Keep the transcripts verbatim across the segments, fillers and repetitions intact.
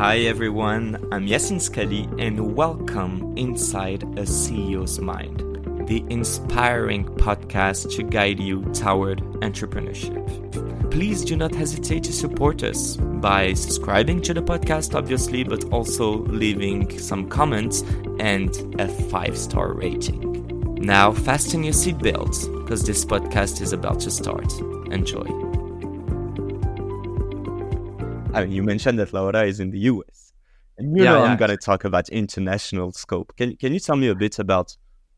Hi everyone, I'm Yasin Skali and welcome inside a C E O's Mind, the inspiring podcast to guide you toward entrepreneurship. Please do not hesitate to support us by subscribing to the podcast, obviously, but also leaving some comments and a five-star rating. Now fasten your seatbelts because this podcast is about to start. Enjoy. I mean, you mentioned that Laura is in the U S. And you Yeah, know yeah. I'm going to talk about international scope. Can Can you tell me a bit about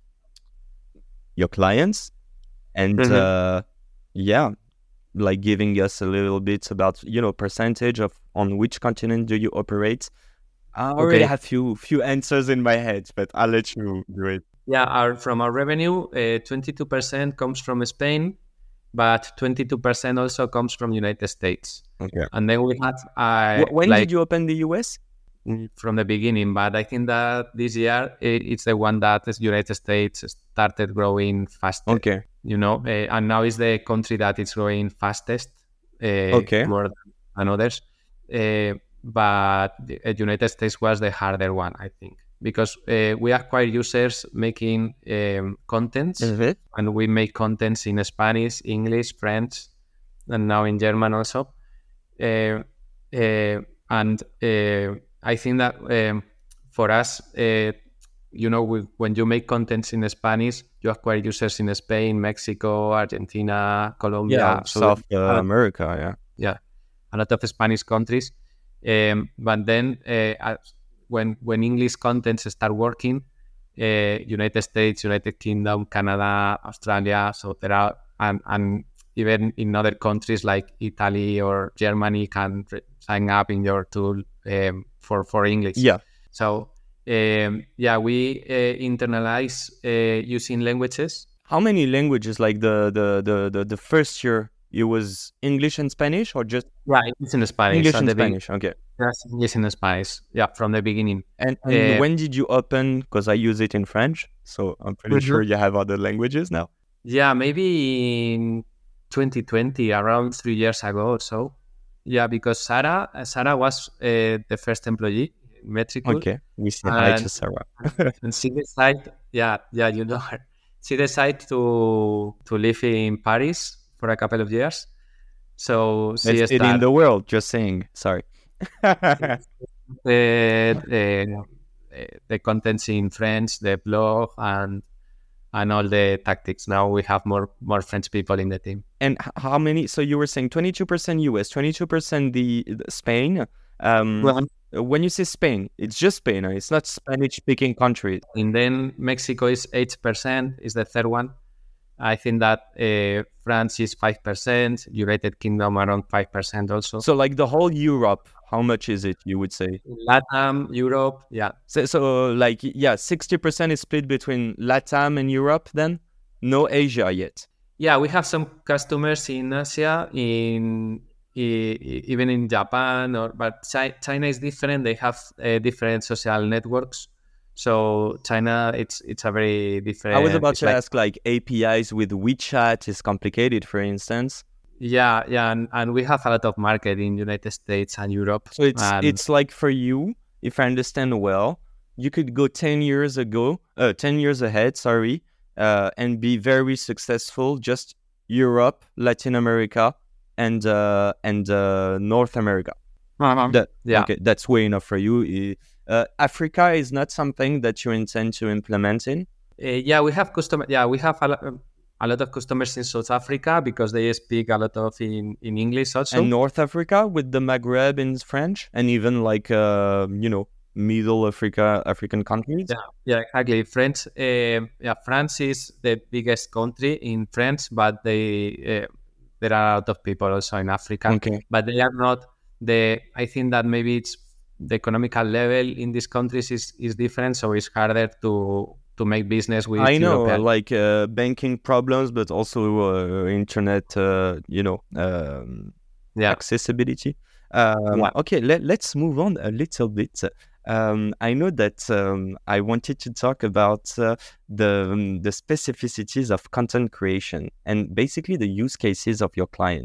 your clients and Mhm. uh, yeah, like giving us a little bit about, you know, percentage of on which continent do you operate? I already Okay. have few few answers in my head, but I'll let you do it. Yeah, our, from our revenue, uh, twenty-two percent comes from Spain, but twenty-two percent also comes from United States. Okay. And then we had uh, Wh- When like did you open the U S? mm, from the beginning, but I think that this year i- it's the one that the United States started growing faster. Okay. You know, uh, and now is the country that is growing fastest, uh, Okay. more than others. Uh, but the uh, United States was the harder one, I think, because uh, we acquire users making um, contents, Mhm. and we make contents in Spanish, English, French, and now in German also. Uh, uh, and uh, I think that um, for us, uh, you know, we, when you make contents in Spanish, you acquire users in Spain, Mexico, Argentina, Colombia, Yeah, so South uh, a lot, America, yeah. yeah, a lot of Spanish countries. Um, but then uh, as- when when English contents start working, uh, United States, United Kingdom, Canada, Australia, so there are and and even in other countries like Italy or Germany can re- sign up in your tool um, for for English. Yeah. So um, yeah, we uh, internalize uh, using languages. How many languages? Like the the the the, the first year, it was English and Spanish, or just Right, it's in Spanish. English At and the beginning, Spanish? Okay. yes, yes, in Spanish. Yeah, from the beginning. And and Uh, when did you open? Because I use it in French, so I'm pretty Mhm. sure you have other languages now. Yeah, maybe in twenty twenty, around three years ago or so. Yeah, because Sarah, uh, Sarah was uh, the first employee in Metricool, Okay, we say hi and to Sarah. and she decided, yeah, yeah, you know her. She decided to to live in Paris for a couple of years. So Best she city in started the world. Just saying. Sorry. the, the the contents in French, the blog, and and all the tactics. Now we have more more French people in the team. And h- how many? So you were saying twenty-two percent U S, twenty-two percent the, the Spain. Um, Well, when you say Spain, it's just Spain. huh? It's not Spanish-speaking country. and then Mexico is eight percent, is the third one. I think that uh, France is five percent, United Kingdom around five percent also. So like the whole Europe, how much is it? You would say? Latam, Europe, yeah. So, so like yeah, sixty percent is split between Latam and Europe. Then no Asia yet. Yeah, we have some customers in Asia, in e- e- even in Japan, or but Chi- China is different. They have uh, different social networks. So China, it's it's a very different. I was about It's to like ask like A P Is with WeChat is complicated, for instance. yeah, yeah, and, and we have a lot of market in United States and Europe. So it's And it's like for you, if I understand well, you could go ten years ago, uh, ten years ahead, sorry, uh, and be very successful. Just Europe, Latin America, and uh, and uh, North America. That yeah, okay, that's way enough for you. I- Uh, Africa is not something that you intend to implement in. Uh, yeah, we have customer. Yeah, we have a, lo- um, a lot of customers in South Africa because they speak a lot of in, in English also. And North Africa with the Maghreb in French, and even like uh, you know, Middle Africa, African countries. Yeah, yeah, exactly. French. Uh, yeah, France is the biggest country in France, but they uh, there are a lot of people also in Africa. Okay. But they are not the. I think that maybe it's the economical level in these countries is, is different, so it's harder to to make business with I know, European. like uh, banking problems, but also uh, internet, uh, you know, um, Yeah, accessibility. Um, yeah. okay, let, let's move on a little bit. Um, I know that um, I wanted to talk about uh, the um, the specificities of content creation and basically the use cases of your clients.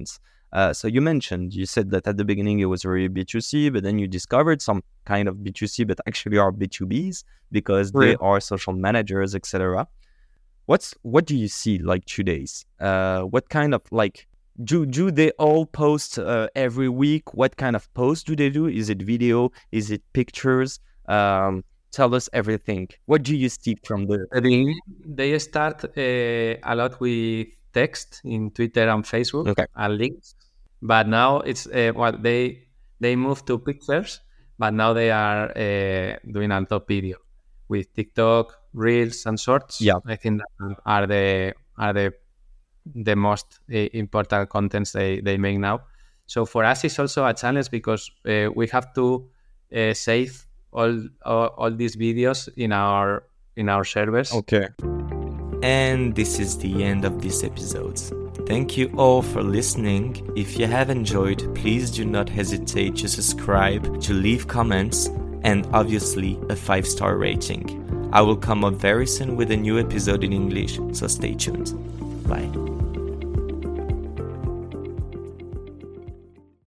Uh, so you mentioned, you said that at the beginning it was really B two C, but then you discovered some kind of B two C, but actually are B two Bs because they Yeah. are social managers, et cetera. What's what do you see like today's? Uh, what kind of like do do they all post uh, every week? What kind of post do they do? Is it video? Is it pictures? Um, tell us everything. What do you see from the? They, they start uh, a lot with text in Twitter and Facebook Okay. and links, but now it's uh, well they they moved to pictures, but now they are uh, doing a top video with TikTok, Reels, and Shorts. Yeah. I think that are the are the the most uh, important contents they, they make now. So for us, it's also a challenge because uh, we have to uh, save all, all all these videos in our in our servers. Okay. And this is the end of this episode. Thank you all for listening. If you have enjoyed, please do not hesitate to subscribe, to leave comments, and obviously a five-star rating. I will come up very soon with a new episode in English, so stay tuned. Bye.